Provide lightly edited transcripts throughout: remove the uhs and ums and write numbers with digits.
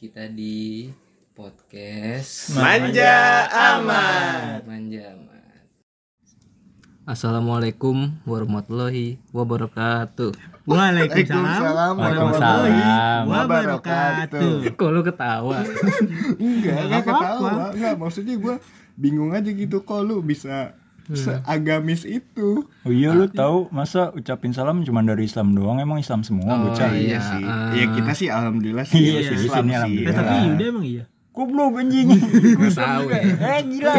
Kita di podcast Manja Amat. Assalamualaikum warahmatullahi wabarakatuh. Waalaikumsalam warahmatullahi wabarakatuh. Kok lu ketawa? Enggak ketawa. Enggak, maksudnya gue bingung aja gitu kok lu bisa seagamis itu. Oh iya, lu tahu masa ucapin salam cuma dari Islam doang? Emang Islam semua bocah? Iya sih. Ya kita sih alhamdulillah sih Iya sih, Islam sini sih. alhamdulillah. Tapi Yuda emang iya. Goblok anjing. Gue tahu ya. Gila.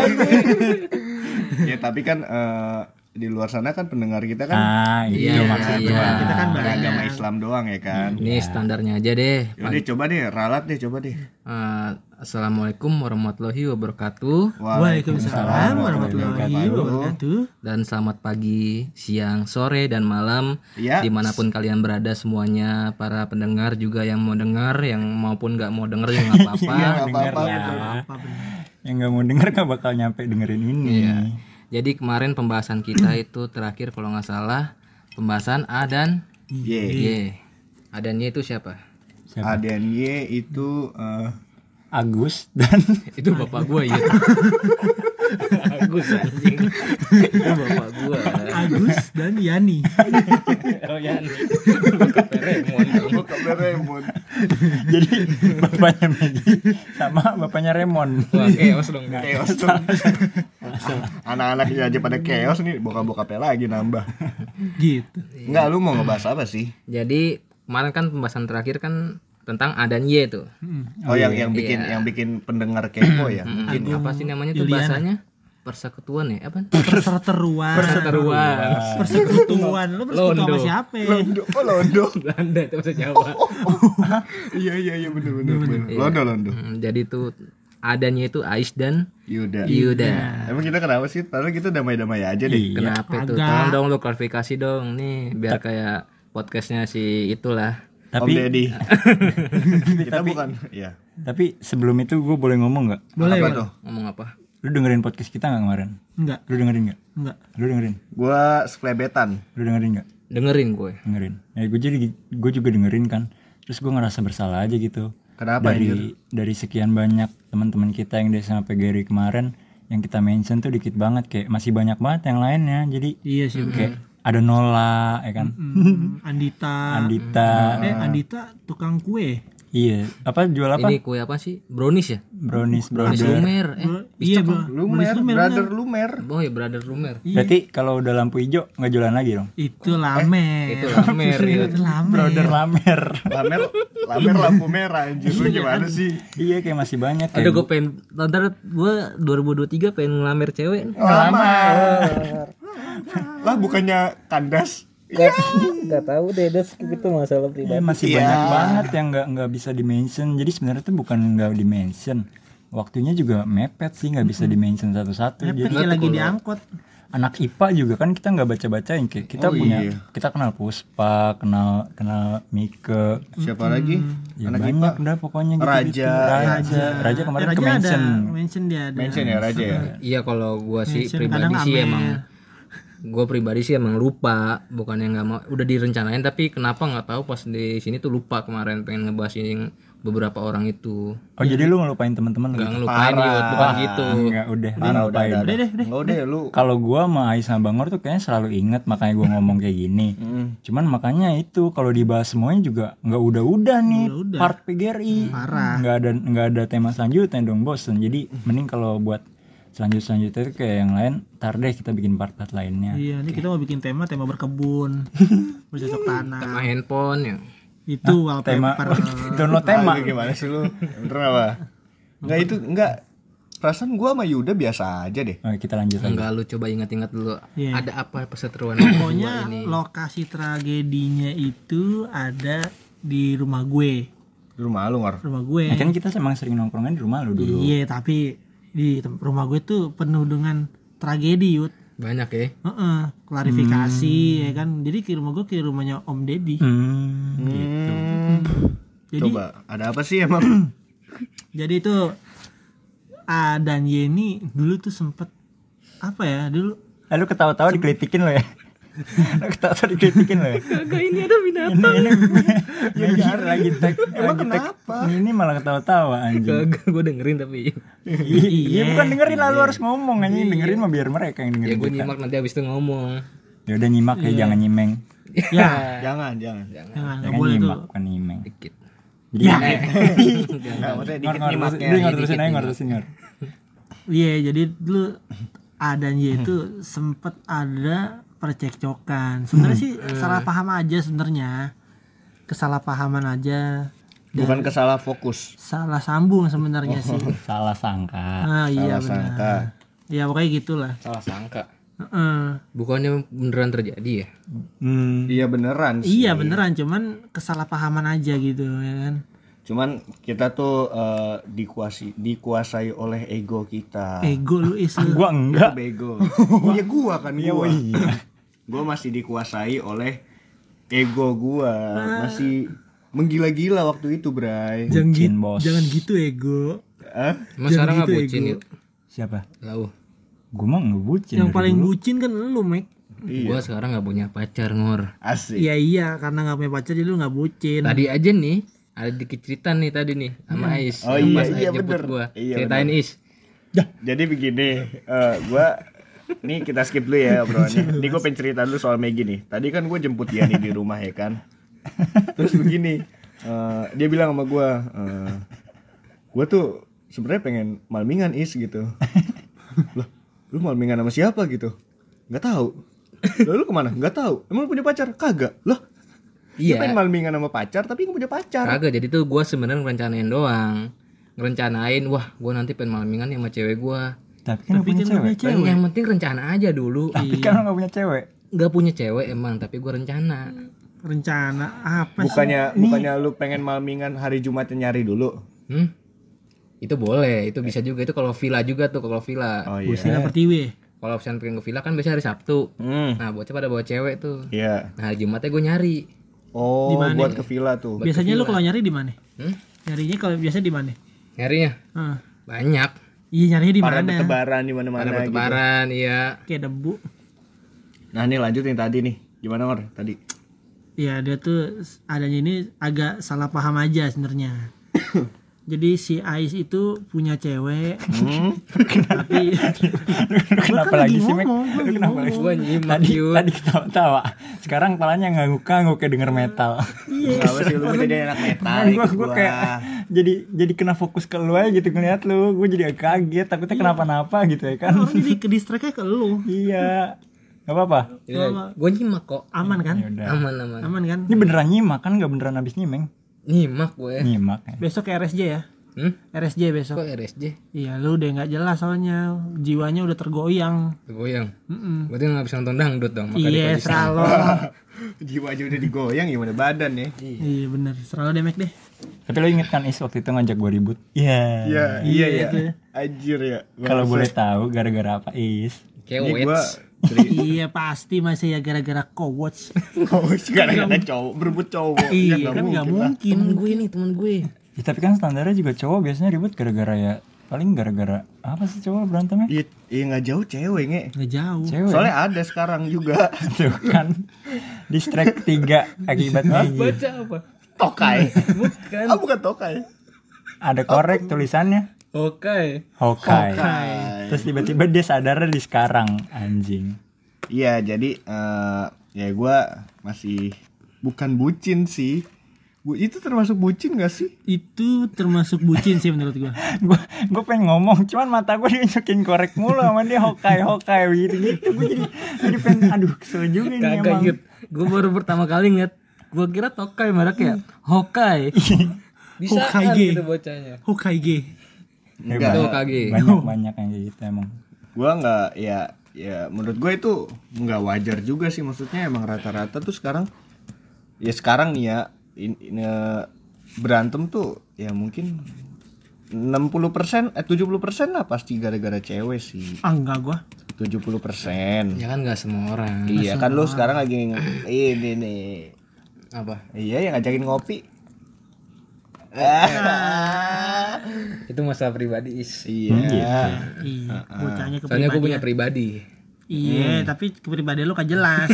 Ya tapi kan di luar sana kan pendengar kita kan iya, maksudnya. iya. Kita kan beragama Islam doang ya kan. Ini standarnya aja deh. Yaudah coba deh, ralat deh coba deh. Assalamualaikum warahmatullahi wabarakatuh. Waalaikumsalam warahmatullahi wabarakatuh. Dan selamat pagi, siang, sore, dan malam Ya. dimanapun kalian berada semuanya. Para pendengar juga yang mau dengar, yang maupun gak mau denger juga gak apa-apa. Iya, nggak Denger apa-apa. lah. Apa bener? Yang nggak mau denger gak bakal nyampe dengerin ini. Iya. Jadi kemarin pembahasan kita itu terakhir kalau nggak salah pembahasan A dan Ye. Y. A dan Y itu siapa? Siapa? A dan Y itu Agus dan Itu bapak gua ya. Agus anjing. Itu bapak gua. Agus dan Yani. Oh ya. Remon. Bukan Doraemon. jadi bapaknya Megi sama bapaknya Remon. Wah, chaos dong. Chaos tuh. Anak-anaknya aja pada chaos nih, bokap-bokapnya lagi nambah. Gitu. Enggak, lu mau ngebahas apa sih? Jadi kemarin kan pembahasan terakhir kan tentang A dan Y tuh. Oh, yang bikin pendengar kepo ya. Mungkin apa sih namanya tuh Juliana. bahasanya? Persekutuan ya? Apa? Perseteruan. Persekutuan. Lu persekutuan Londo. sama siapa? Londo, oh Londo. Belanda itu bahasa Jawa. Iya bener. Londo. Jadi tuh A dan Y itu Ais dan Yuda. Yuda. Emang kita kenapa sih? Padahal kita damai-damai aja deh. Iya. Kenapa tuh? Agak. Tolong dong lu klarifikasi dong nih biar kayak podcastnya si itulah. Om Tapi Deddy. Kita bukan, iya. tapi sebelum itu gue boleh ngomong nggak? Boleh, Apa boleh. tuh? Ngomong apa? Lu dengerin podcast kita nggak kemarin? Enggak. Lu dengerin nggak? Enggak. Lu dengerin? Gua seklebetan. Lu dengerin nggak? Dengerin gue. Dengerin. Ya gue juga dengerin kan. Terus gue ngerasa bersalah aja gitu. Kenapa anjir? Dari sekian banyak teman-teman kita yang dari sama PGRI kemarin yang kita mention tuh dikit banget, kayak masih banyak banget yang lainnya. Jadi Iya sih. kayak ada Nola ya kan. Andita. Andita tukang kue. Iya, apa jual apa? Ini kue apa sih? Brownies ya? Brownies Brownies Lumer. Iya, Bro. Lumer, brother Lumer. Oh ya brother Lumer. Berarti kalau udah lampu hijau nggak jualan lagi dong? Itu lamer. Itu Lamer ya. Itu lamer. Brother Lamer. Lamer lampu merah anjir. Lu gimana sih? Iya, kayak masih banyak Ada kayak. gue pengen ntar gue 2023 pengen ngelamer cewek. Lamar. Lah bukannya kandas. Gak tahu deh, itu masalah Iya, masih banyak banget yang nggak bisa dimention. Jadi sebenarnya tuh bukan nggak dimention, waktunya juga mepet sih, nggak bisa dimention satu-satu. Mepet Jadi kayak lagi diangkot. anak IPA juga kan kita nggak baca-bacain, kayak kita kita kenal Puspa, kenal Mike, Siapa lagi? ya Anak banyak IPA. udah pokoknya gitu. Raja kemarin ke Raja mention. ada mention dia ada. Mention ya Raja ya. Iya kalau gue sih Mention, pribadi kadang sih Amer. emang gue pribadi sih emang lupa, bukannya nggak mau, udah direncanain tapi kenapa nggak tahu pas di sini tuh lupa. Kemarin pengen ngebahas yang beberapa orang itu Oh jadi lu ngelupain teman-teman nggak lu? ngelupain yuk, bukan gitu. Enggak, udah Udah. ngelupain. Enggak udah lu. Kalau gua sama Ais sama Bangor tuh kayaknya selalu inget, makanya gua ngomong kayak gini. Cuman makanya itu kalau dibahas semuanya juga nggak udah nih Udah-udah. part PGRI. Parah. Nggak ada tema selanjutnya dong, bosen. Jadi mending kalau buat selanjutnya itu kayak yang lain, ntar deh kita bikin part-part lainnya. Iya, ini kita mau bikin tema berkebun. Bercocok tanam. Sama handphone ya. Itu Tema wallpaper. download tema. Lu gimana sih lu? Bener apa? Enggak. Perasaan gua sama Yuda biasa aja deh. Oh, kita lanjut lagi. Enggak, lu coba ingat-ingat dulu. Iya. Ada apa perseteruan Pokoknya ini? lokasi tragedinya itu ada di rumah gue. Di rumah lu, Ngor. Rumah gue. Nah, kan kita emang sering nongkrongnya di rumah lu dulu. Iya, tapi di rumah gue tuh penuh dengan tragedi, Yud. Banyak ya. Klarifikasi ya kan. Jadi ke rumah gue kayak rumahnya Om Deddy. Gitu. Jadi Coba, ada apa sih emang? jadi itu A dan Y ini dulu tuh sempet apa ya dulu Lu ketawa-tawa dikelitikin lo ya. Ketawa dikritikin loh. Kagak, ini ada binatang. Ini lagi tag. Emang kenapa? Ini malah ketawa-tawa anjing. Kagak, gue dengerin tapi. Iya, bukan dengerin lalu harus ngomong anjing, dengerin mah biar mereka yang Ya dengerin. gue kita. nyimak nanti abis itu ngomong. Ya udah nyimak ya, jangan nyimeng. Ya, Jangan. jangan nggak Jangan boleh nyimak, tuh. bukan nyimeng. Dikit. Jadi Enggak, maksudnya dikit ngor nyimaknya. terusin aja, ngor terusin ngor. Iya, jadi dulu adanya itu sempet ada percekcokan. Sebenarnya sih salah paham aja sebenarnya. Kesalahpahaman aja. Bukan kesalah fokus. Salah sambung sebenarnya sih. Salah sangka. Nah, iya Salah benar. sangka. Ya pokoknya gitulah. Salah sangka. Heeh. Bukannya beneran terjadi ya? Iya beneran sih. Iya beneran, cuman kesalahpahaman aja gitu ya kan. Cuman kita tuh dikuasai oleh ego kita. Ego lu isu. Gua enggak. Itu bego. Iya gua kan gua. Gua masih dikuasai oleh ego gua. Masih menggila-gila waktu itu, Bray. Jangan Bucin, gitu, bos. jangan gitu ego. Hah? Emang sekarang nggak gitu, bucin ego. ya? Siapa? Lau. Gua mah enggak bucin. Yang dari paling dulu. bucin kan lu, Mek. Gua sekarang nggak punya pacar, Ngor. Asik. Iya, karena nggak punya pacar jadi lu nggak bucin. Tadi aja nih ada dikit cerita nih tadi nih sama Ais. Oh Yang iya, pas iya, Ais jemput bener. gua. Iya, Ceritain Is. Jadi begini, gua nih kita skip dulu ya obrolannya. Ini gue pengen cerita dulu soal Maggie nih. Tadi kan gue jemput dia nih di rumah ya kan. Terus begini, dia bilang sama gue tuh sebenarnya pengen malmingan Is gitu. Loh, lu malmingan sama siapa gitu? Nggak tahu. Loh, lu kemana? Nggak tahu. Emang lu punya pacar? Kagak. Loh, dia pengen Iya. malmingan sama pacar tapi nggak punya pacar. Kagak, jadi tuh gua sebenarnya ngerencanain doang. Ngerencanain, wah gua nanti pengen malmingan sama cewek gua. Tapi kan lu punya cewek. Yang penting rencana aja dulu. Tapi kan lu enggak punya cewek. Nggak punya cewek emang, tapi gua rencana. Rencana apa sih? Bukannya lu pengen malmingan hari Jumatnya nyari dulu. Itu boleh, itu bisa juga. Itu kalau villa juga tuh, kalau villa. Oh Busina Pertiwi. Kalau misalnya pengen ke villa kan biasanya hari Sabtu. Nah, bocah pada bawa cewek tuh. Iya. Nah, hari Jumatnya gue nyari. Oh, Di mana? buat ke villa tuh. Biasanya lu kalau nyari di mana? Hmm? Nyarinya kalau biasa di mana? Nyarinya Heeh. banyak. Iya, nyarinya di Para mana? bertebaran di mana-mana Ada gitu. bertebaran, iya. Kayak debu. Nah, ini lanjut yang tadi nih. Gimana, Ngor? Tadi. Iya, dia tuh adanya ini agak salah paham aja sebenarnya. Jadi si Ais itu punya cewek, tapi Kenapa lagi sih, Mek? Lu kenapa lagi? Gue nyimak yuk. Tadi ketawa-tawa. Sekarang kepalanya ngangguk-ngangguk kayak denger metal. Kenapa sih lu jadi anak metal? Gue kayak jadi kena fokus ke lu aja gitu ngeliat lu. Gue jadi agak kaget, takutnya kenapa-napa gitu ya kan. orang jadi ke distract ke lu. Iya. Gak apa-apa. Gue nyimak kok. Aman kan? Yaudah. Aman. Aman kan? Ini beneran nyimak kan, gak beneran habis nyimeng. Nyimak gue. Nyimak ya. Besok ke RSJ ya. RSJ besok. Kok RSJ? Iya, lu udah nggak jelas soalnya jiwanya udah tergoyang. Goyang. Berarti nggak bisa nonton dangdut dong. Maka Iya, diposisi. selalu. Jiwa aja udah digoyang gimana badan ya? Iya bener, selalu demek deh. Tapi lo inget kan Is waktu itu ngajak gue ribut? Iya. Iya itu. ya. Anjir ya. Kalau boleh tahu gara-gara apa Is? Kayak Ini gua wets. Iya pasti masih ya gara-gara co-watch. gara-gara cowok berebut cowok. Iya nggak kan nggak mungkin. mungkin. Temen gue. Ya, tapi kan standarnya juga cowok biasanya ribut gara-gara ya paling gara-gara apa sih cowok berantemnya? Iya nggak jauh cewek nge. Nggak jauh. Cewek. Soalnya ada sekarang juga. Tuh kan. Distract 3 akibat Maggie. Baca apa? Tokai. Bukan. Ah bukan tokai. Ada korek tulisannya Oke. Hokai. Terus tiba-tiba dia sadar di sekarang anjing. Iya jadi ya gue masih bukan bucin sih. Itu termasuk bucin gak sih? Itu termasuk bucin sih menurut gua. Gue pengen ngomong cuman mata gue diunjukin korek mulu sama dia Hokai gitu. Gue jadi pengen aduh kesel juga ini Kagak emang. inget. Gue baru pertama kali ngeliat. Gue kira Tokai mereknya. Hokai. Bisa kan Hokage. gitu bocahnya. Hokage. Enggak. Itu Hokage. Banyak yang kayak gitu emang. Gue nggak ya menurut gue itu nggak wajar juga sih, maksudnya emang rata-rata tuh sekarang nih ya berantem tuh ya mungkin 60% 70% lah pasti gara-gara cewek sih. Enggak gua. 70%. Ya kan nggak semua orang. Iya kan lu sekarang lagi ini nih. Apa? Iya yang ngajakin ngopi. Itu masalah pribadi Is. Iya. Iya, bocahnya ke Soalnya gue punya pribadi. pribadi. Iya, tapi kepribadian lu gak jelas.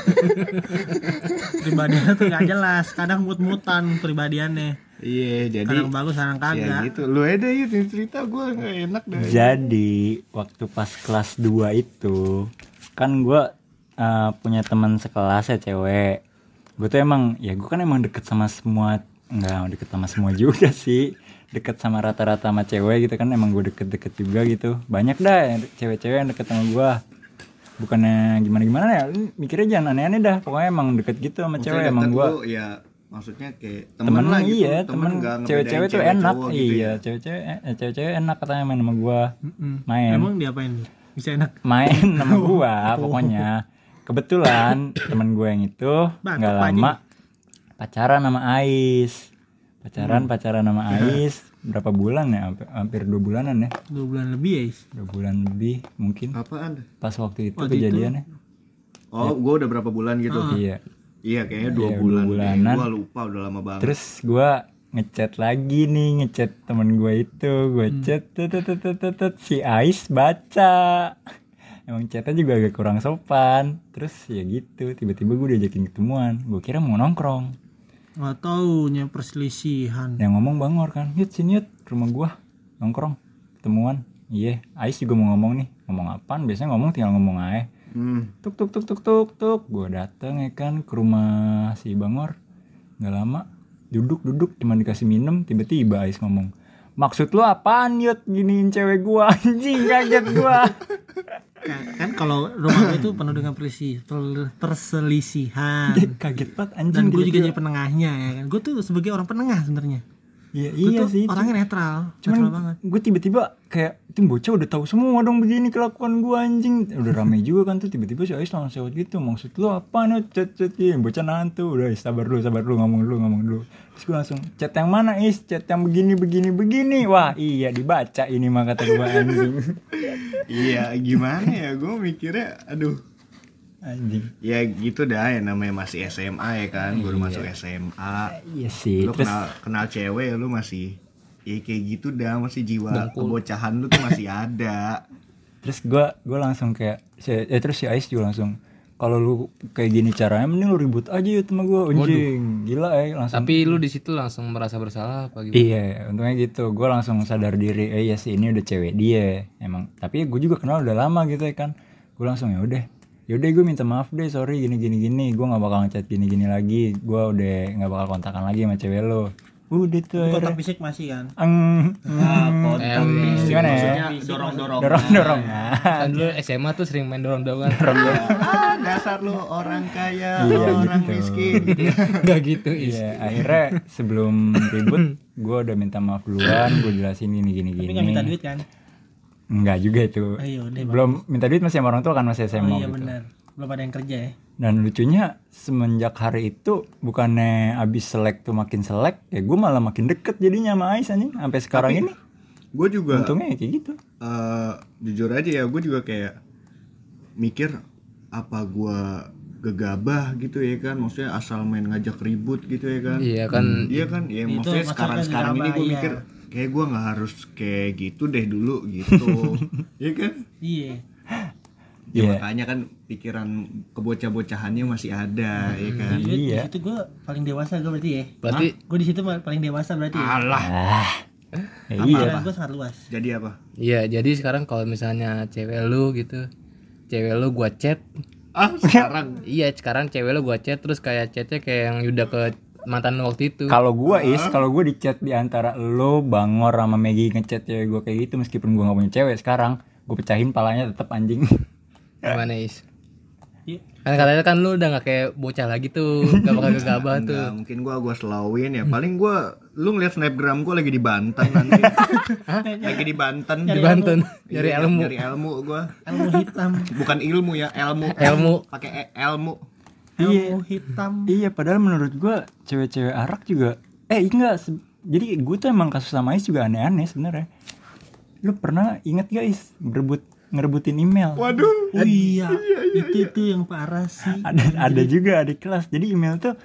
Kepribadian lu tuh gak jelas. Kadang mut-mutan kepribadiannya. Iya, jadi Kadang bagus, kadang ya kagak. gitu. Lu aja yuk cerita, gue nggak enak dah. Jadi waktu pas kelas 2 itu kan gue punya teman sekelas ya cewek. Gue tuh emang deket sama semua, nggak deket sama semua juga sih, deket sama rata-rata sama cewek gitu kan, emang gue deket-deket juga gitu. Banyak dah cewek-cewek yang deket sama gue. Bukannya gimana-gimana ya, lu mikirnya jangan aneh-aneh dah. Pokoknya emang deket gitu sama cewek emang gue. Ya maksudnya kayak Temen lah gitu. iya, temen nggak ngebedain cewek-cewek tuh enak. cowok gitu Iya, ya. cewek-cewek enak katanya main sama gua. Main. Emang diapain? Bisa enak. Main sama gua pokoknya. Kebetulan temen gua yang itu Batuk, enggak Pak lama pacaran sama Ais. Pacaran sama Ais berapa bulan ya? Hampir 2 bulanan ya. 2 bulan lebih ya, Is. 2 bulan lebih mungkin. Apaan? Pas waktu itu Waktu itu. kejadiannya. Oh, gue udah berapa bulan gitu? Iya. Iya, kayaknya 2 Iya, bulan. 2 bulanan. Gue lupa, udah lama banget. Terus gue ngechat lagi nih, ngechat temen gue itu, gue chat si Ais baca. Emang chatnya juga agak kurang sopan. Terus ya gitu, tiba-tiba gue diajakin ketemuan. Gue kira mau nongkrong. Nggak taunya perselisihan. Yang ngomong Bangor kan, yut sini yut rumah gue nongkrong ketemuan. Iya, Ais juga mau ngomong nih. Ngomong apaan? Biasanya ngomong tinggal ngomong aja. Tuk. Gue dateng ya kan ke rumah si Bangor. Nggak lama, duduk cuma dikasih minum, tiba-tiba Ais ngomong, maksud lu apaan Yud giniin cewek gua? Anjing, kaget gua. Kan kalau rumah gue itu penuh dengan perselisihan. Kaget banget anjing. Dan gue juga jadi penengahnya ya kan. Gue tuh sebagai orang penengah sebenarnya. Iya, Gue iya tuh sih. orangnya netral Cuman banget. gue tiba-tiba kayak itu bocah udah tahu semua dong begini kelakuan gue anjing. Udah rame juga kan tuh, tiba-tiba si Ais langsung sewot gitu. Maksud lu apa nih chat bocah nantu. Udah sabar dulu ngomong dulu. Terus gue langsung chat yang mana Is? Chat yang begini. Wah iya dibaca ini mah kata gue anjing. Iya, gimana ya? Gue mikirnya, aduh. Anjing. Ya gitu dah, ya namanya masih SMA ya kan. Gue udah masuk SMA. Iya sih. Lu Terus kenal cewek, lu masih ya kayak gitu dah, masih jiwa kebocahan lu tuh masih ada. terus gue langsung kayak terus si Ais juga langsung, kalau lu kayak gini caranya mending lu ribut aja ya sama gue anjing. Gila langsung. Tapi lu di situ langsung merasa bersalah apa gimana? Iya, untungnya gitu. Gue langsung sadar diri, iya sih ini udah cewek dia emang. Tapi gue juga kenal udah lama gitu ya kan. Gue langsung yaudah gue minta maaf deh, sorry gini. Gue nggak bakal ngechat gini lagi. Gue udah nggak bakal kontakan lagi sama cewek lo. Udah tuh. Kontak fisik masih kan. Kontak fisik gimana ya? maksudnya dorong. Nah. Kan dulu SMA tuh sering main dorong-dorongan. Dasar lu orang kaya, Iya, orang gitu. miskin. Enggak gitu, Is. Iya, akhirnya sebelum ribut gue udah minta maaf duluan. Gue jelasin gini. Tapi nggak minta duit kan? Enggak juga itu. Ayo deh. Belum minta duit masih sama orang tua kan, masih SMA Oh iya gitu. benar. Belum ada yang kerja ya. Dan lucunya semenjak hari itu bukannya abis selek tuh makin selek, ya gue malah makin deket jadinya sama Ais anjing sampai sekarang ini. Gue juga Untungnya kayak gitu. jujur aja ya, gue juga kayak mikir apa gue gegabah gitu ya kan, maksudnya asal main ngajak ribut gitu ya kan. Iya kan. Iya kan, ya Itu maksudnya maksudnya sekarang ini gegabah, gue iya. mikir kayak gue nggak harus kayak gitu deh dulu gitu. Iya kan. Iya. Ya Iya. makanya kan pikiran kebocah-bocahannya masih ada ya kan. Jadi Iya. di situ gue paling dewasa gue berarti ya. Berarti Gue di situ paling dewasa berarti ya. Alah. Ya, iya. Pikiran gue sangat luas. Jadi apa? iya, jadi sekarang kalau misalnya cewek lu gitu, cewek lu gua chat, Sekarang sekarang cewek lu gua chat terus kayak chatnya kayak yang udah ke mantan lu waktu itu. Kalau gue kalau gue di chat di antara lo, Bangor sama Maggie ngechat cewek gue kayak gitu, meskipun gue nggak punya cewek sekarang, gue pecahin palanya tetap anjing. Gimana, Is? Iya. Kan katanya kan lu udah gak kayak bocah lagi tuh, gak bakal gegabah tuh. enggak, mungkin gua slowin ya. Paling lu ngeliat snapgram gua lagi di Banten nanti. Lagi di Banten. Di Banten, nyari Iya, ilmu. Nyari ilmu gua. Ilmu hitam. Bukan ilmu ya, ilmu. Ilmu. Pakai ilmu. Ilmu hitam. Iya, padahal menurut gue cewek-cewek arak juga enggak jadi gue tuh emang kasus sama Ais juga aneh-aneh sebenarnya. Lu pernah inget guys ngerebutin email? Waduh. Oh iya. Itu yang parah sih. Ada juga adik kelas. Jadi email tuh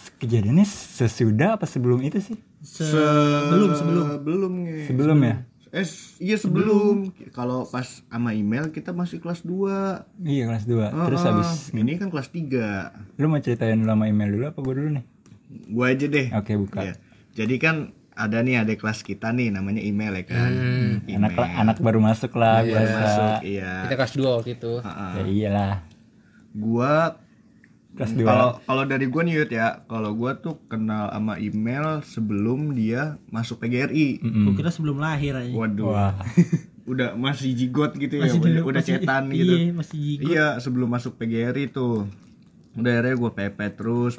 kejadiannya sesudah apa sebelum itu sih? Sebelum Belum nih. Sebelum ya? Iya sebelum. Kalau pas sama email kita masih kelas 2. Iya kelas 2. Terus habis ini kan kelas 3. lu mau ceritain dulu sama email dulu apa gue dulu nih? Gua aja deh. Oke, buka. Iya. Jadi kan ada nih adik kelas kita nih namanya email ya kan. Anak baru masuk lah Baru biasa. masuk, iya. Kita kelas 2 waktu itu. Ya iyalah. Gua Kelas 2. Kalau dari gua nih Yud ya, kalau gua tuh kenal sama email sebelum dia masuk PGRI. Gue kira sebelum lahir aja. Waduh. Wah. Udah masih jigot gitu ya, Masih udah masih- cetan iya, gitu. masih jigot. Iya, sebelum masuk PGRI tuh. Udah akhirnya gue pepet terus.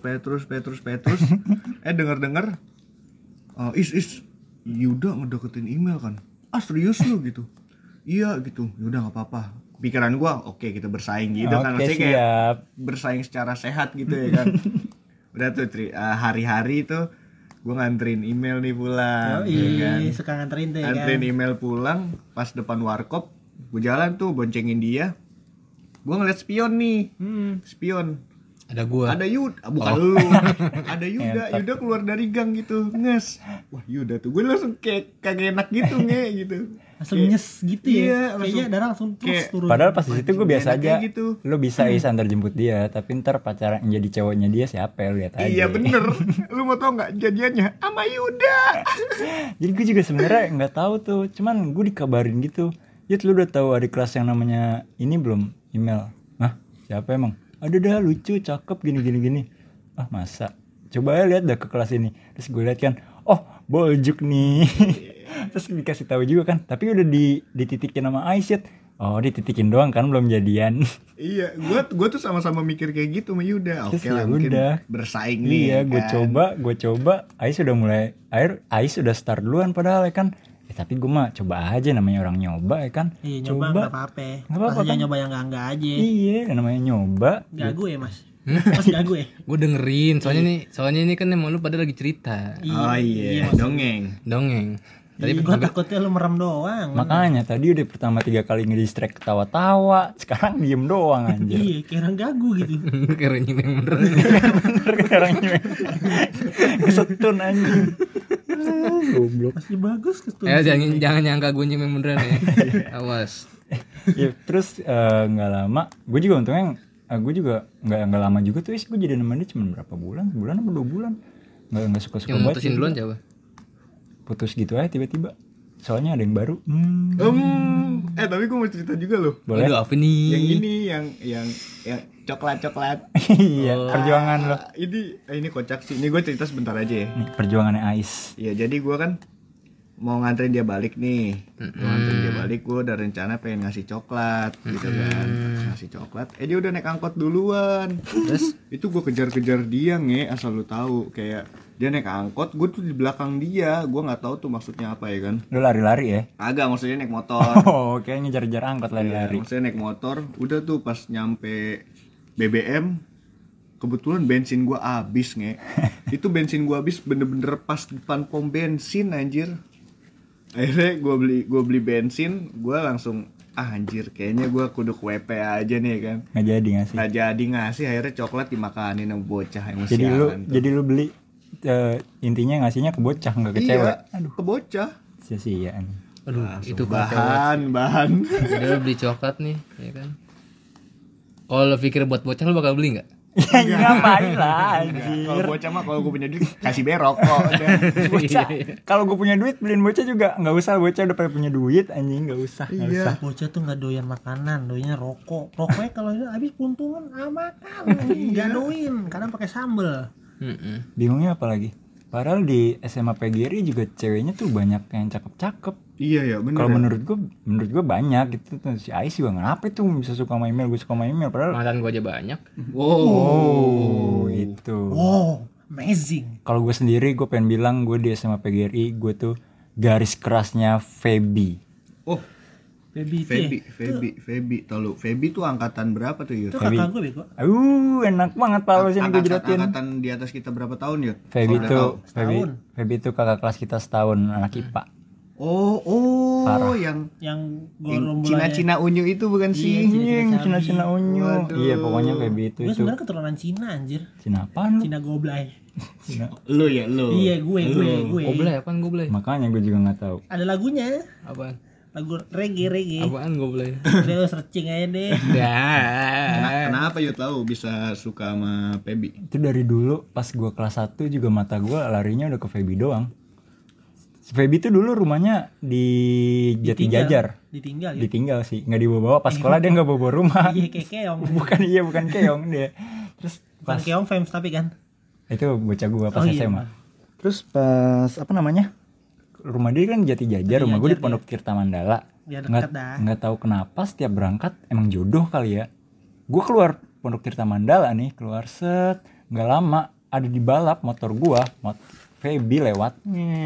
Denger is Yuda ngedeketin email kan. Serius lu gitu. Iya gitu. Yaudah enggak apa-apa. Pikiran gua oke, kita bersaing gitu kan. Oke, Maksudnya kayak siap. bersaing secara sehat gitu ya kan. Udah tuh hari-hari tuh gua nganterin email nih pulang. Oh ya kan. iya, suka nganterin tuh ya kan. Nganterin email pulang pas depan warkop. Gue jalan tuh boncengin dia. Gue ngeliat spion nih. Spion. Ada gua. Ada Yuda, bukan lu. Ada Yuda keluar dari gang gitu. Nges. Wah, Yuda tuh. Gue langsung kayak kagak enak gitu gitu. Langsung nyes gitu ya. Iya, Kayaknya darah langsung terus turun. Padahal pas di situ gue biasa Enaknya aja. gitu. Lu bisa antar jemput dia, tapi ntar pacaran jadi cowoknya dia siapa ya, lu lihat aja. Iya bener. Lu mau tau nggak jadiannya sama Yuda? Jadi gue juga sebenarnya nggak tahu tuh, cuman gue dikabarin gitu. Yud, lu udah tahu adik kelas yang namanya ini belum? Email. Hah? Siapa emang? Ada dah, lucu, cakep, gini. Ah masa? Coba ya lihat dah ke kelas ini. Terus gue lihat kan, oh Boljuk nih. Terus dikasih tahu juga kan, tapi udah dititikin sama Aisyah. Oh dititikin doang kan, belum jadian. Iya, gua tuh sama-sama mikir kayak gitu sama Yuda. Oke Terus lah, ya mungkin udah. bersaing nih. Iya, kan. gue coba. Ais udah start duluan padahal ya kan. Tapi gue mah coba aja, namanya orang nyoba ya kan. Iya, nyoba nggak apa-apa. Nggak apa-apa, Masa kan? nyoba yang enggak aja. Iya, namanya nyoba. Gagu ya, Mas? Mas gagu ya? Gue dengerin, soalnya ini kan emang lu pada lagi cerita. Oh iya, dongeng. Dongeng. Tadi Gue takutnya lu merem doang. Makanya tadi udah pertama 3 kali ngedistract ketawa-tawa, sekarang diem doang anjir. Iya, kayak orang gagu gitu. kira nyimeng bener. Bener sekarang ini. Kesetun anjing. Goblok. Masih bagus ketua. Jangan nyangka gue nyimeng beneran ya. Awas. Ya terus nggak lama, gue juga untungnya gue juga nggak lama juga tuh, gue jadi nemenin dia cuma berapa bulan, sebulan apa 2 bulan, nggak suka Yang banget. mutusin duluan siapa? Putus gitu aja tiba-tiba, soalnya ada yang baru. Tapi gue mau cerita juga loh. Boleh. Aduh, apa nih? Yang ini yang coklat. Iya, perjuangan lo. Ini kocak sih. Ini gue cerita sebentar aja ya. Nih, perjuangannya Ais. Iya, jadi gue kan mau nganterin dia balik nih. Mau nganterin dia balik, gue udah rencana pengen ngasih coklat gitu kan. Ngasih coklat. Dia udah naik angkot duluan. Terus itu gue kejar-kejar dia asal lu tahu, kayak dia naik angkot, gue tuh di belakang dia. Gue nggak tahu tuh maksudnya apa ya kan. Lu lari-lari ya? Agak, maksudnya naik motor. Oh, kayak ngejar-ngejar angkot lari-lari. Maksudnya naik motor, udah tuh pas nyampe BBM, kebetulan bensin gua habis Itu bensin gua habis bener-bener pas depan pom bensin anjir. Akhirnya gua beli bensin, gua langsung anjir kayaknya gua kudu ke WP aja nih kan. Nggak jadi ngasih. Nggak jadi ngasih, akhirnya coklat dimakanin sama bocah yang Jadi lu beli intinya ngasihnya ke bocah nggak ke cewek. Aduh, ke bocah. Sia-sia nih. Aduh, itu bahan. Udah lu beli coklat nih, ya kan? Kalau lo pikir buat bocah lo bakal beli nggak? Ya ngapain lah anjir. Kalau bocah mah kalau gue punya duit kasih berok kok. Bocah, kalau gue punya duit beliin bocah juga nggak usah, bocah udah pada punya duit anjing, nggak usah. Iya. Bocah tuh nggak doyan makanan, doyannya rokok. Rokoknya kalau habis puntungan makan, nggak doyan, kadang pakai sambel. Bingungnya apa lagi? Padahal di SMA PGRI juga ceweknya tuh banyak yang cakep-cakep. Iya ya, bener. Kalau menurut gue banyak gitu tuh. Si Ais juga kenapa tuh bisa suka sama email, gue suka sama email padahal. Mantan gue aja banyak. Oh, itu. Wow, amazing. Kalau gue sendiri gue pengen bilang gue di SMA PGRI gue tuh garis kerasnya Feby. Oh, Baby Feby, tau lu. Feby tuh angkatan berapa tuh, Yud? itu kakak gue bego. Enak banget Pak sini gue jelatin. Angkatan di atas kita berapa tahun, Yud? Feby Kalau udah tuh tahu. Feby tuh kakak kelas kita setahun, anak IPA. Oh, Parah. yang gorombolannya. Cina unyu itu bukan sih? Yang Cina unyu. Waduh. Iya pokoknya Feby itu Gue sebenarnya keturunan Cina anjir. Cina apaan lu? Cina goblay. Lu ya lu. Iya, gue. Goblay apaan goblay? Makanya gue juga nggak tahu. Ada lagunya. Apaan? Lagu reggae. Apaan goblay? Udah lo searching aja deh. Ya. Kenapa Yud tahu bisa suka sama Feby? Itu dari dulu pas gue kelas 1 juga mata gue larinya udah ke Feby doang. Feby tuh dulu rumahnya di Jati Jajar. Ditinggal ya. Ditinggal sih, nggak dibawa-bawa. Pas sekolah dia nggak bawa rumah. Iya, kayak keong. bukan keong dia. Terus Bukan pas keong fans tapi kan. itu bocah gua pas Oh, iya, SMA. Terus pas apa namanya? Rumah dia kan Jati Jajar, rumah gue di Pondok Tirta Mandala. Ya deket dah. Nggak tahu kenapa setiap berangkat emang jodoh kali ya. Gue keluar Pondok Tirta Mandala nih, keluar set, nggak lama ada di balap motor gua, Feby lewat.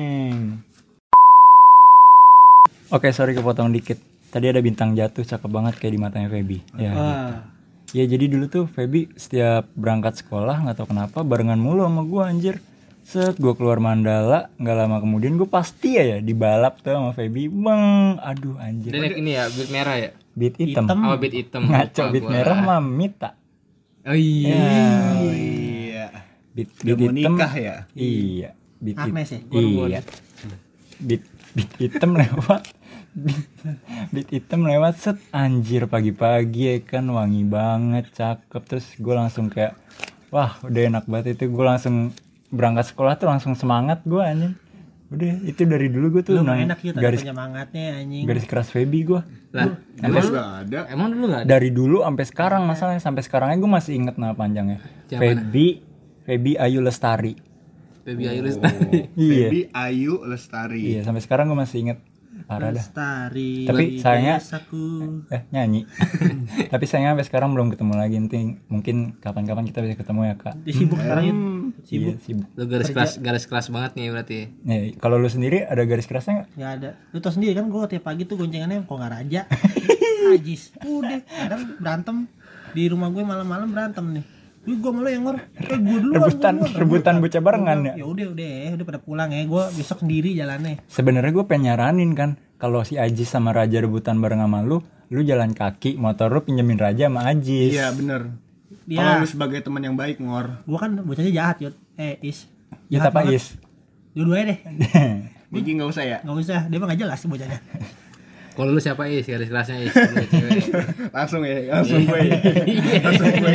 Oke, sorry kepotong dikit. Tadi ada bintang jatuh cakep banget kayak di matanya Feby. Ya. Ya jadi dulu tuh Feby setiap berangkat sekolah nggak tahu kenapa barengan mulu sama gua anjir. Set gue keluar Mandala, nggak lama kemudian gue pasti ya dibalap tuh sama Feby. Bang, aduh anjir. Dia naik ini ya, beat merah ya? Beat hitam. Oh, beat hitam. Ngaco Lupa beat gua. merah mah Mita. Oh iya. Iya. Beat Udah mau hitam. nikah ya? Iya. Beat Agnes ya? Iya. Beat hitam lewat. Beat hitam lewat set anjir pagi-pagi ya kan, wangi banget, cakep. Terus gue langsung kayak wah udah enak banget itu. Gue langsung berangkat sekolah tuh langsung semangat gue anjing. Udah itu dari dulu gue tuh Lu mah enak ya tadi garis penyemangatnya anjing. garis keras Feby gue. Lah, Emang nggak ada. emang dulu enggak ada? Dari dulu sampai sekarang masalahnya, sampai sekarangnya gue masih inget nama panjangnya. Yang Feby Ayu Lestari. Baby Ayu Lestari. Iya. Feby Ayu Lestari. Iya, sampai sekarang gue masih inget. Parah dah. Lestari. Tapi sayangnya desaku. nyanyi. Tapi sayangnya sampai sekarang belum ketemu lagi. Nanti mungkin kapan-kapan kita bisa ketemu ya, Kak. Dia sibuk sekarang ya. Iya, sibuk. Lu garis keras banget nih berarti. Nih, kalau lu sendiri ada garis kerasnya nggak? Nggak ada. Lu tau sendiri kan gue tiap pagi tuh goncengannya kok nggak raja. Ajis. Udah. Kadang berantem di rumah gue malam-malam berantem nih. Gue malu yang ngor. Gue duluan. Rebutan bocah barengan ya. Ya udah pada pulang ya. Gue besok sendiri jalannya. Sebenarnya gue pengen nyaranin kan, kalau si Ajis sama Raja rebutan bareng sama lu jalan kaki, motor lu pinjemin Raja sama Ajis. Iya bener. Dia. Kalau lu sebagai teman yang baik ngor. Gue kan bocahnya jahat Yud. Is. Ya apa banget. Is? Dua-duanya deh. Mungkin nggak usah ya. Nggak usah. Dia mah nggak jelas bocahnya. Kalau lu siapa Is? Garis kerasnya Is. Lu cewek. Langsung gue. Langsung gue.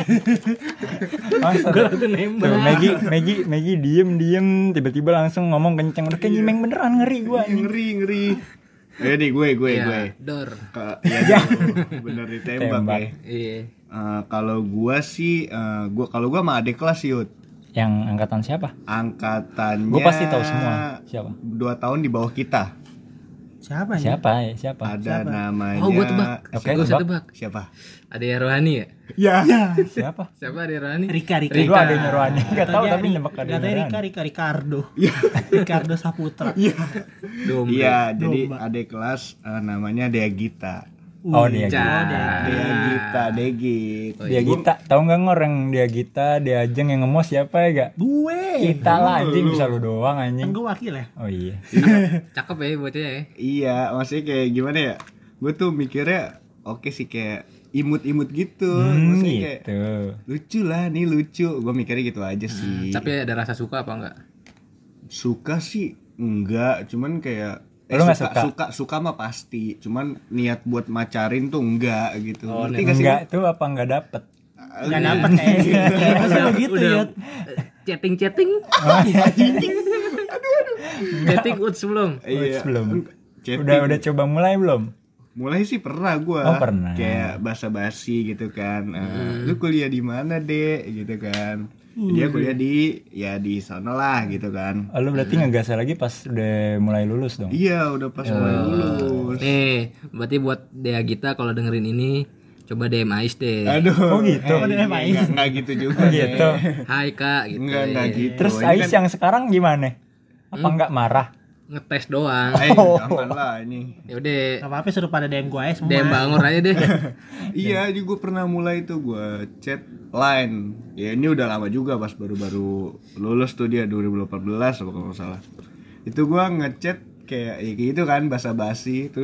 Masa Gua langsung nembak. tuh, Maggie diem tiba-tiba langsung ngomong kenceng, udah kayak nyimeng beneran, ngeri gua. Ngeri. Nih gue. Iya, Dor. Iya bener ditembak Tembak. ya. Iya. Kalau gua sih, kalau gua sama adik kelas Yud. Yang angkatan siapa? Angkatannya. Gua pasti tahu semua. Siapa? 2 tahun di bawah kita. Siapa ya? Siapa? Ada namanya. Oh, gua tebak. Oke, Gua bisa tebak. tebak. Siapa? Ada Rohani ya? Ya. Siapa? Siapa ada Rohani? Rika. Lu adanya Rohani. Enggak tahu tapi nembak adanya Katanya Rohani. Ricardo. Ricardo Saputra. Dombe. Iya, jadi adik kelas namanya Dea Gita. Oh, dia Cah. Dea Gita, Degit. Dia Gita, tahu nggak orang dia Gita, dia Ajeng yang ngemos siapa ya gak? Gue. Kita lah anjing, bisa lu doang Kan anjing. gue wakil ya. Oh iya. Cakep ya bocahnya ya. Iya, maksudnya kayak gimana ya? Gue tuh mikirnya oke sih kayak imut-imut gitu. Maksudnya kayak Gitu. lucu lah, nih lucu. Gue mikirnya gitu aja sih. Tapi ada rasa suka apa enggak? Suka sih enggak, cuman kayak Lu nggak suka mah pasti. Cuman niat buat macarin tuh enggak gitu. Oh, Ngerti nggak sih? Enggak tuh apa enggak dapet? Nggak dapet kayaknya. Masa begitu ya. Chatting. Chatting udah sebelum. Iya. Belum. Chatting. Udah coba mulai belum? Mulai sih pernah gua. Oh, pernah. Kayak basa-basi gitu kan. Lu kuliah di mana, Dek? Gitu kan. Dia kuliah di sana lah gitu kan. Oh, lu berarti ngegas lagi pas udah mulai lulus dong? Iya, udah pas mulai lulus. Nih, berarti buat Dea Gita kalau dengerin ini coba DM Ais deh. Aduh. Oh gitu. Enggak gitu juga. Gitu. Hai Kak gitu. Enggak gitu. Terus Ini Ais yang sekarang gimana? Apa enggak marah? Ngetes doang. Jangan lah ini. Ya udah, Gak apa-apa suruh pada DM gue aja semua. DM Bangor aja deh. Iya, juga pernah mulai tuh gua chat line. Ya ini udah lama juga pas baru-baru lulus tuh dia 2018 apa kalau nggak salah. Itu gua ngechat kayak ya gitu kan basa-basi terus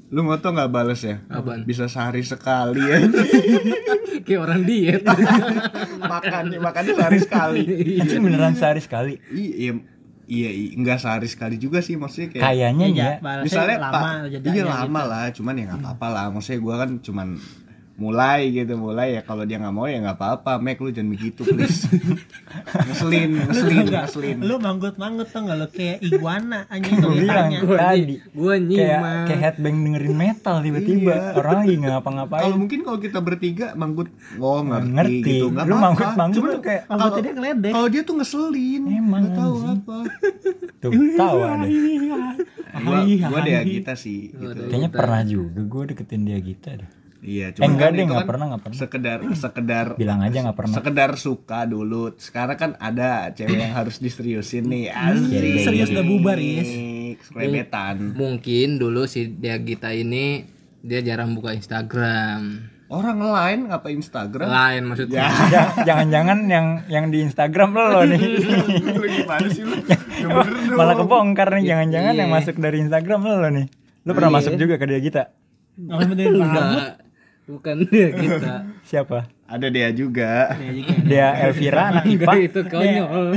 Lu ngoto nggak bales ya? Apaan? Bisa sehari sekali ya. Kayak orang diet. Makannya sehari sekali. Anjing beneran sehari sekali. Iya, enggak sehari sekali juga sih, maksudnya kayak Kayaknya ya. misalnya lama jedanya lama gitu. lah, cuman ya nggak apa-apa lah. Maksudnya gue kan cuman mulai ya, kalau dia nggak mau ya nggak apa-apa. Mek, lu jangan begitu please. ngeselin. Lu manggut-manggut tuh enggak lu kayak iguana anjing Gue bilang ditanya. tadi. Gua Kayak nyimak. headbang dengerin metal tiba-tiba. Iya. Orang lagi ngapa-ngapain. Kalau kita bertiga manggut, Ngerti. gitu, nggak Lu apa-apa. manggut Cuman tuh kayak Manggutnya dia ngeledek. kalau dia tuh ngeselin, Emang, nggak tahu anjing. apa. tuh tawa deh. Gua dia kita sih. Gitu. Kayaknya pernah juga gue deketin dia gitu deh. Iya, Enggak kan deh, itu nggak kan pernah. sekedar Bilang aja nggak pernah. sekedar suka dulu. Sekarang kan ada cewek yang harus diseriusin nih. Asik. Serius udah bubar, Is. Skrebetan. Mungkin dulu si Deagita ini dia jarang buka Instagram. Orang lain ngapa Instagram? Lain maksudnya. Jangan-jangan yang di Instagram lo nih. Lu gimana sih lu? Ya bener dong. Malah kebongkar nih, jangan-jangan Iya. yang masuk dari Instagram lo nih. Lu pernah Iya. masuk juga ke dia kita? Ngapain benerin rambut? Enggak. Bukan dia kita. Siapa? Ada dia juga. Dia Elvira anak IPA. Enggak, itu konyol.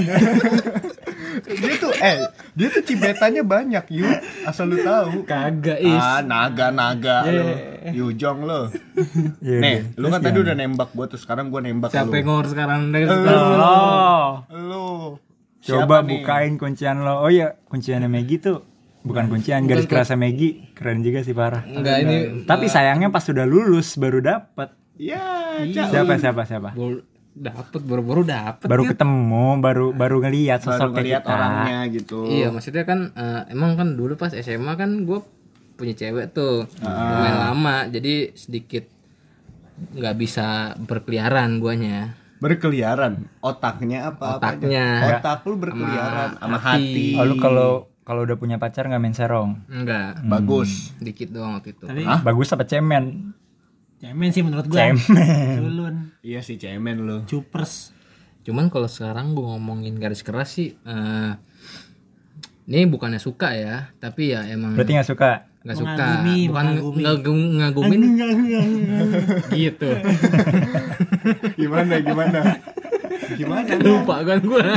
Dia tuh cibetannya banyak, Yu. Asal lu tahu. Kagak is. Naga lu. Yujong lo. Iya, Nih, iya. lu kan tadi udah nembak gua tuh, sekarang gua nembak Siapa yang lu. ngor sekarang dari Oh, Lu. coba Siapa nih? bukain kuncian lo. Oh iya, kunciannya Maggie tuh bukan kuncian, garis kerasnya Maggie. Keren juga sih, parah. Enggak ini Tapi sayangnya pas sudah lulus baru dapet. Ya, Siapa? baru dapet Baru gitu. ketemu, baru ngelihat baru sosok ngeliat kita. orangnya gitu. Iya, maksudnya kan emang kan dulu pas SMA kan gue punya cewek tuh lumayan lama, jadi sedikit nggak bisa berkeliaran guanya. Berkeliaran. Otaknya apa? Otaknya. Otak lu berkeliaran sama hati. hati. Oh, lu kalau udah punya pacar nggak main serong? Enggak, Bagus. dikit doang waktu itu. Tapi Bagus apa cemen? cemen sih menurut gua. Cemen. Culun, Iya sih, cemen lu. cupers. Cuman kalau sekarang gue ngomongin garis keras sih, ini bukannya suka ya, tapi ya emang Berarti nggak suka? nggak suka, Mengagumi, bukan mengagumi. ngagumin gitu. Gimana? Lupa kan gue.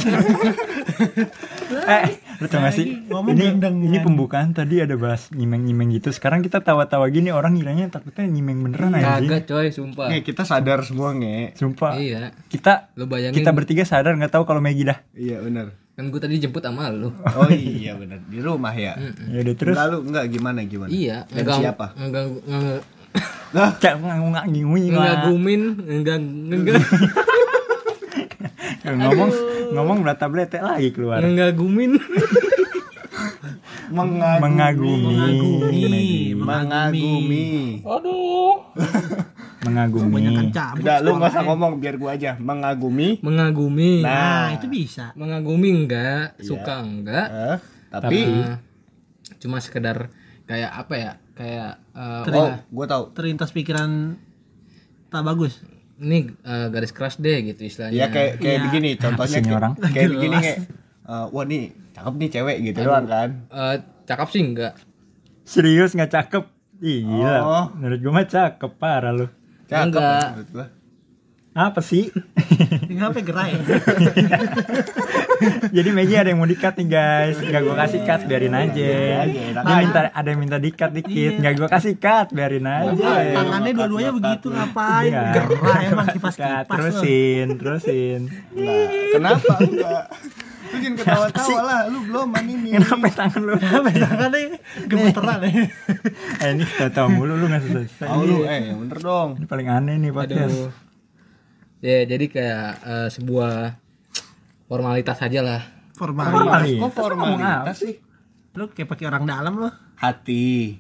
Lu tau gak sih? Ngomong Ini gendeng-gendeng. pembukaan tadi ada bahas nyimeng-nyimeng gitu. Sekarang kita tawa-tawa gini, orang ngiranya takutnya nyimeng beneran aja. Kagak coy, sumpah. Nih, kita sadar semua, Nge. Sumpah. Iya, Kita lo bayangin. kita bertiga sadar nggak tahu kalau Maggie dah. Iya, benar. Kan gue tadi jemput sama lo. Oh iya, benar. Di rumah ya. Ya udah terus. Enggak gimana? Iya, Dan siapa? ngagumin, enggak ngomong berata belete lagi keluar. ngagumin. Mengagumi. Mengagumi. Banyak cabut. Udah, lu nggak usah ngomong, biar gua aja. Mengagumi. Mengagumi. Nah, itu bisa. Mengagumi enggak, suka enggak. Tapi Cuma sekedar kayak apa ya? Kayak gua tahu. Terlintas pikiran tak bagus. ini garis keras deh gitu istilahnya. Ya kayak begini contohnya sih ini orang? kayak begini kayak wah nih cakep nih cewek gitu doang kan. Cakep sih enggak. Serius nggak cakep? Ih, gila. Oh. Menurut gue mah cakep parah lu. Cakep Enggak. menurut gua. Apa sih? Kenapa gerai? Jadi Maggie ada yang mau di-cut nih guys. Nggak gue kasih cut, biarin aja. Ada yang minta di-cut dikit. Nggak gue kasih cut, biarin aja. Tangannya dua-duanya begitu ngapain? Iya. Gerai emang Cut, kipas-kipas. terusin. Nah, kenapa enggak? Lu jangan ketawa-tawa lah, lu belum ini. Kenapa tangan lu? Tangannya gemeteran ya. Ini tahu mulu lu nggak selesai. Tahu lu, yang bener dong. Ini paling aneh nih podcast. Aduh. Ya jadi kayak sebuah formalitas aja lah. Formal. Kok formalitas sih? Lu kayak pakai orang dalam lu. Hati.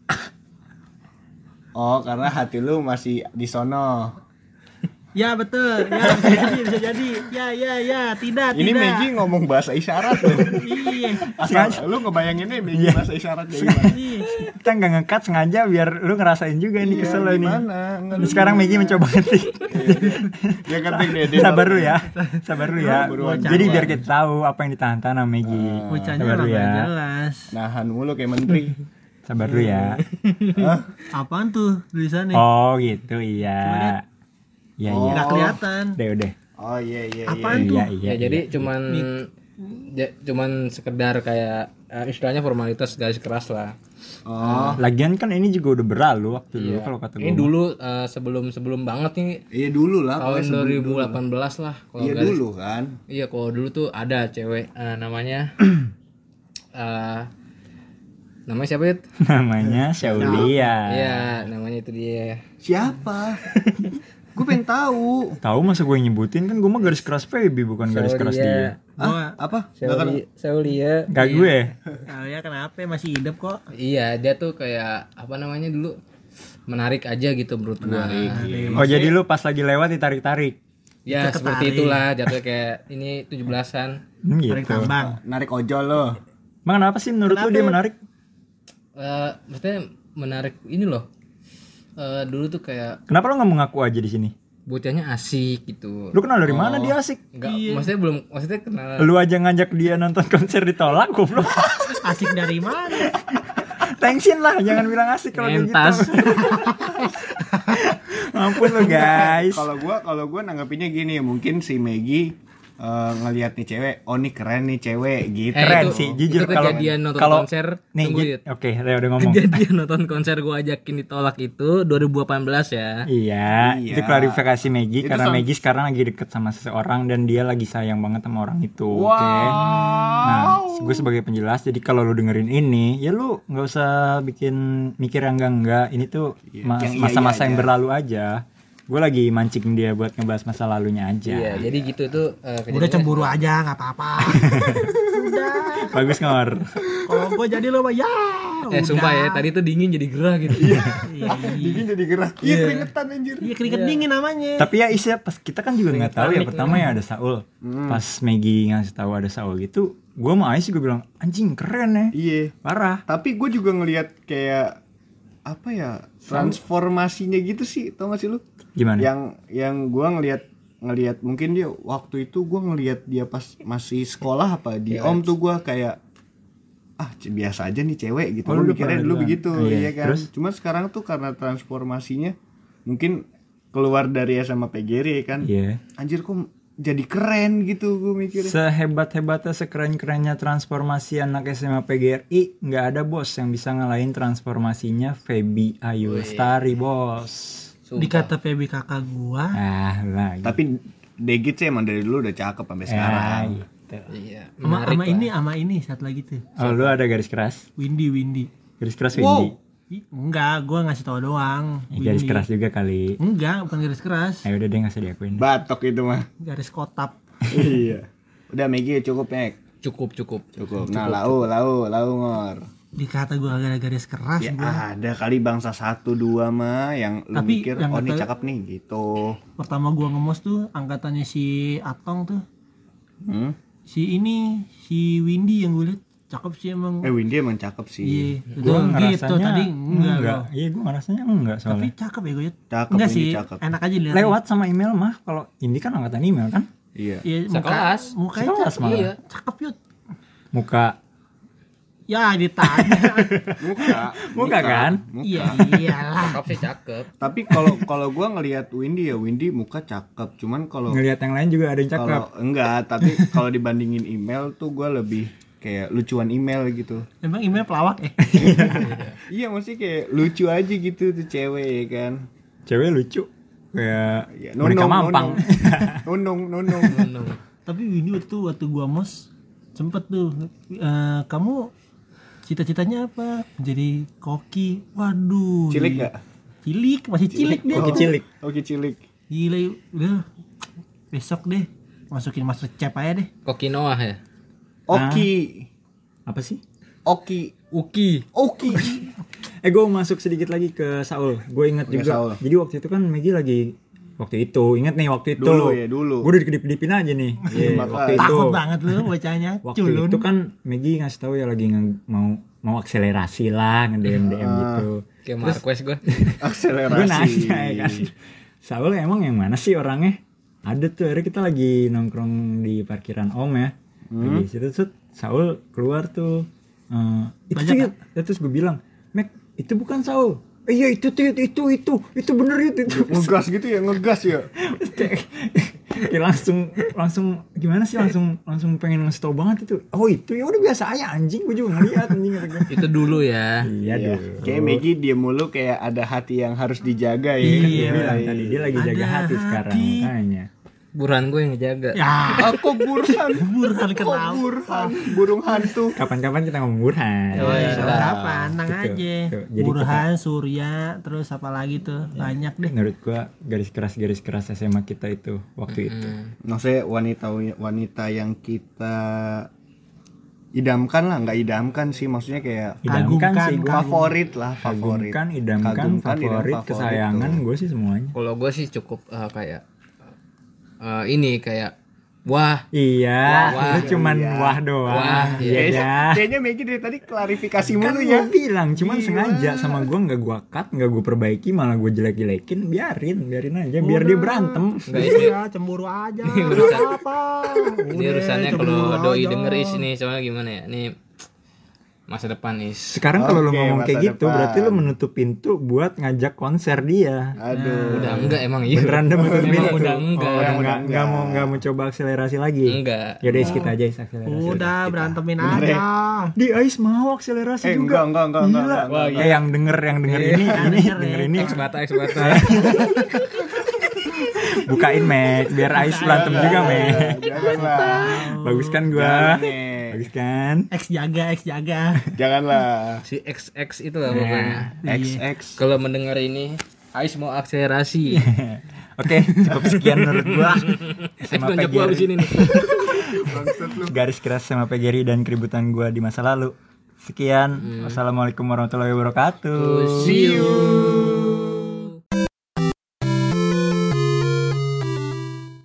Oh, karena hati lu masih di sono. Ya betul. Ya bisa jadi. Ya, tidak. Ini Maggie ngomong bahasa isyarat loh. Iya. Asal lu ngebayanginnya Maggie bahasa isyarat kayak gimana? Kita nggak nge-cut sengaja biar lu ngerasain juga ini kesel lo ini. Gimana? Enggak, Terus sekarang Maggie mencoba ngetik. dia ketik deh. Sabar lu ya. Buruan. Jadi biar kita tahu apa yang ditahan-tahan sama Maggie. Bocahnya Sabar orang lu ya. nggak jelas. Nahan mulu kayak menteri. Sabar dulu ya. Apaan tuh tulisannya? Oh gitu iya. Iya iya. Nggak kelihatan. Udah. Oh iya. Apaan tuh? Iya. Ya jadi cuman sekedar kayak istilahnya formalitas garis keras lah. Oh. Lagian kan ini juga udah berlalu waktu dulu kalau kata gue. Ini dulu sebelum banget nih Iya dulu lah. tahun 2018 lah. Kalau Iya garis- dulu kan. Iya, kalau dulu tuh ada cewek namanya namanya siapa itu? Namanya Syaulia. Iya, namanya itu dia. Siapa? Gue pengen tahu. Tahu masa gue nyebutin kan gue mah garis keras Feby bukan garis keras dia. Apa? Saulia. Gak gue. Ya kenapa masih hidup kok? Iya, dia tuh kayak apa namanya dulu menarik aja gitu menurut gua. Oh jadi lu pas lagi lewat ditarik-tarik. Ya seperti itulah jatuhnya kayak ini 17-an. Tarik Gitu. tambang. Narik ojol lo. Emang kenapa sih menurut lu dia menarik? Maksudnya menarik ini loh. Dulu tuh kayak Kenapa lu nggak mau ngaku aja di sini? bocahnya asik gitu. Lu kenal dari mana dia asik? Enggak, maksudnya kenal. Lu aja ngajak dia nonton konser ditolak goblok. Asik dari mana? Thanksin lah, jangan bilang asik kalau kayak Entas. gitu. Ampun lu guys. Kalau gua nanggapinnya gini, mungkin si Maggie ngelihat nih cewek, oh nih keren nih cewek gitu. Keren itu- sih, jujur itu kalau kejadian nonton kalau konser, nih, tunggu, Yud. oke, Leo udah ngomong. Kejadian nonton konser gua ajakin ditolak itu 2018 ya. Iya, Iya. itu klarifikasi Maggie Itu karena sama- Maggie sekarang lagi deket sama seseorang dan dia lagi sayang banget sama orang itu. Oke. Nah, gue sebagai penjelas, jadi kalau lu dengerin ini, ya lu nggak usah bikin mikir yang enggak. Ini tuh yang iya masa-masa yang aja. berlalu aja. Gue lagi mancing dia buat ngebahas masa lalunya aja. Iya, jadi gitu tuh Udah kejadiannya. cemburu aja nggak apa-apa. Udah. Bagus ngor. Kalau gue jadi lo mah ya. Sumpah ya, tadi tuh dingin jadi gerah gitu. Iya. Dingin jadi gerah. Iya keringetan anjir. Iya keringet dingin namanya. Tapi ya Isya pas kita kan juga nggak tahu ya pertama ya ada Saul. Pas Maggie ngasih tahu ada Saul gitu, gue sama Ais juga bilang anjing keren ya. Iya. Parah. Tapi gue juga ngelihat kayak apa ya, transformasinya gitu sih, tau gak sih lu? Gimana? Yang gue ngelihat mungkin dia waktu itu gue ngelihat dia pas masih sekolah apa di Om tuh gue kayak biasa aja nih cewek gitu. Oh, Gue lu mikirnya pernah dulu bilang. begitu, Iya, iya kan. terus? Cuma sekarang tuh karena transformasinya mungkin keluar dari SMA PGRI kan. Iya. Anjir kok jadi keren gitu gue mikirnya. Sehebat-hebatnya, sekeren-kerennya transformasi anak SMA PGRI, nggak ada bos yang bisa ngalahin transformasinya Feby Ayu Lestari, bos. Dikata PB kakak gua. Lagi. Tapi Degit sih emang dari dulu udah cakep sampai sekarang. Gitu. Iya, Sama ini satu lagi tuh. Oh, lu ada garis keras? Windy. Garis keras Windy. Enggak, gua ngasih tau doang. Garis keras juga kali. Enggak, bukan garis keras. Ayo udah deh nggak usah diakuin. Batok itu mah. Garis kotap. Iya. Udah Maggie cukup Meg. cukup. Cukup. Nah, lau ngor. Dikata gua agak garis keras Ya gua. ada kali bangsa 1 2 mah yang lu Tapi mikir yang oh ini kata- cakep nih gitu. Pertama gua ngemos tuh angkatannya si Atong tuh. Si Windy yang gue liat cakep sih emang. Windy emang cakep sih. Iya, Gua gitu ngerasanya tadi enggak. enggak. Loh. Iya, gue ngerasanya enggak Tapi soalnya. cakep ya gue liat. Cakep, Enggak Windy sih, cakep. enak aja dilihat. Lewat sama email mah, kalau ini kan angkatan email kan? Iya. Iya, Sekelas. Mukanya Sekelas cakep. malah. Iya, cakep yut. Muka Ya ditanya. Muka kan? Iya iyalah. Cakep sih cakep. Tapi kalau gua ngelihat Windy ya Windy muka cakep. Cuman kalau Ngelihat yang lain juga ada yang cakep. kalau enggak, tapi kalau dibandingin email tuh gua lebih kayak lucuan email gitu. Emang email pelawak ya? Iya, maksudnya kayak lucu aja gitu tuh cewek ya kan. Cewek lucu. Kayak Ya, boneka mampang. Nunung. Tapi Windy waktu gua mos sempet tuh kamu cita-citanya apa? Jadi koki. Waduh. Cilik enggak? Cilik, masih cilik dia. Koki cilik. Oke, cilik. Gila, udah besok deh masukin Master Chef aja deh. Kokinoah ya. Oki. Apa sih? Oki. Uki. Gue masuk sedikit lagi ke Saul. Gue inget Oke, juga. Saul. Jadi waktu itu kan Maggie lagi Ingat nih waktu itu. Dulu. Gue udah kedip-kedipin aja nih. Iya, waktu itu. Takut banget lu bacanya. Waktu Culun. itu kan Maggie ngasih tahu ya lagi mau akselerasi lah, nge-DM gitu. Kayak Marquez gue. Akselerasi. Gue nanya ya kan. Saul emang yang mana sih orangnya? Ada tuh, akhirnya kita lagi nongkrong di parkiran Om ya. Lagi situ Saul keluar tuh. Itu Banyak sih, terus gue bilang, Mek, itu bukan Saul. Iya itu bener itu. Ngegas gitu ya, ngegas ya. Kayak langsung gimana sih, langsung pengen ngasih tau banget itu. Oh itu ya udah biasa aja anjing, gue juga ngeliat anjing kata gue. Itu dulu ya. Iya Iya. dulu. Kayak Maggie dia mulu kayak ada hati yang harus dijaga ya. Dia bilang tadi dia lagi jaga Ada hati sekarang hati. makanya. Burhan gue yang ngejaga. Ya, Aku burhan. Burhan Kok kenapa? burhan? Burung hantu. Kapan-kapan kita ngomong Burhan. Oh, iya. Kapan? Tenang Gitu. aja. Tuh, jadi Burhan, Surya, terus apa lagi tuh? Banyak deh. Menurut gua garis keras SMA kita itu waktu itu. Maksudnya wanita yang kita idamkan lah, nggak idamkan sih, maksudnya kayak Idamkan Kagumkan, sih gua. favorit lah, favorit. Kagumkan, idamkan, Kagumkan, favorit, idam, kesayangan tuh. gue sih semuanya. Kalau gue sih cukup kayak ini kayak wah. Iya, Wah, lu cuman iya. wah doang. Wah, iya dah. Kayaknya Maggie dari tadi klarifikasi Kan mulu gue ya. bilang, cuman Iya. sengaja sama gue nggak gue cut, nggak gue perbaiki, malah gue jelek-jelekin, biarin aja, biar dia berantem. Enggak ini. Ya, cemburu aja. Ini urusan- apa? Ini urusannya kalau doi denger nih, soalnya gimana ya? Nih masa depan is. Sekarang kalau lu Oke, ngomong kayak masa gitu, depan. berarti lu menutup pintu buat ngajak konser dia. Aduh. Udah enggak emang iya. Beneran udah menutup Emang pintu. udah enggak. Oh, udah Udah nggak mau coba akselerasi lagi. Enggak. Yaudah skip aja akselerasi. Udah berantemin Bener ya? aja. Di Ais mau akselerasi juga. Enggak. Gila. Wah, Yang denger ini denger ini X bata. bukain Mac biar Ais berantem juga Mac. Janganlah. Bagus kan gua? Jangan, Bagus kan? X jaga. Janganlah. Si XX itu lah pokoknya. XX. Kalau mendengar ini, Ais mau akselerasi. Oke, cukup sekian menurut gua. SMA Tunjuk gua abis ini nih. Garis keras sama Pegeri dan keributan gua di masa lalu. Sekian. Wassalamualaikum warahmatullahi wabarakatuh. See you.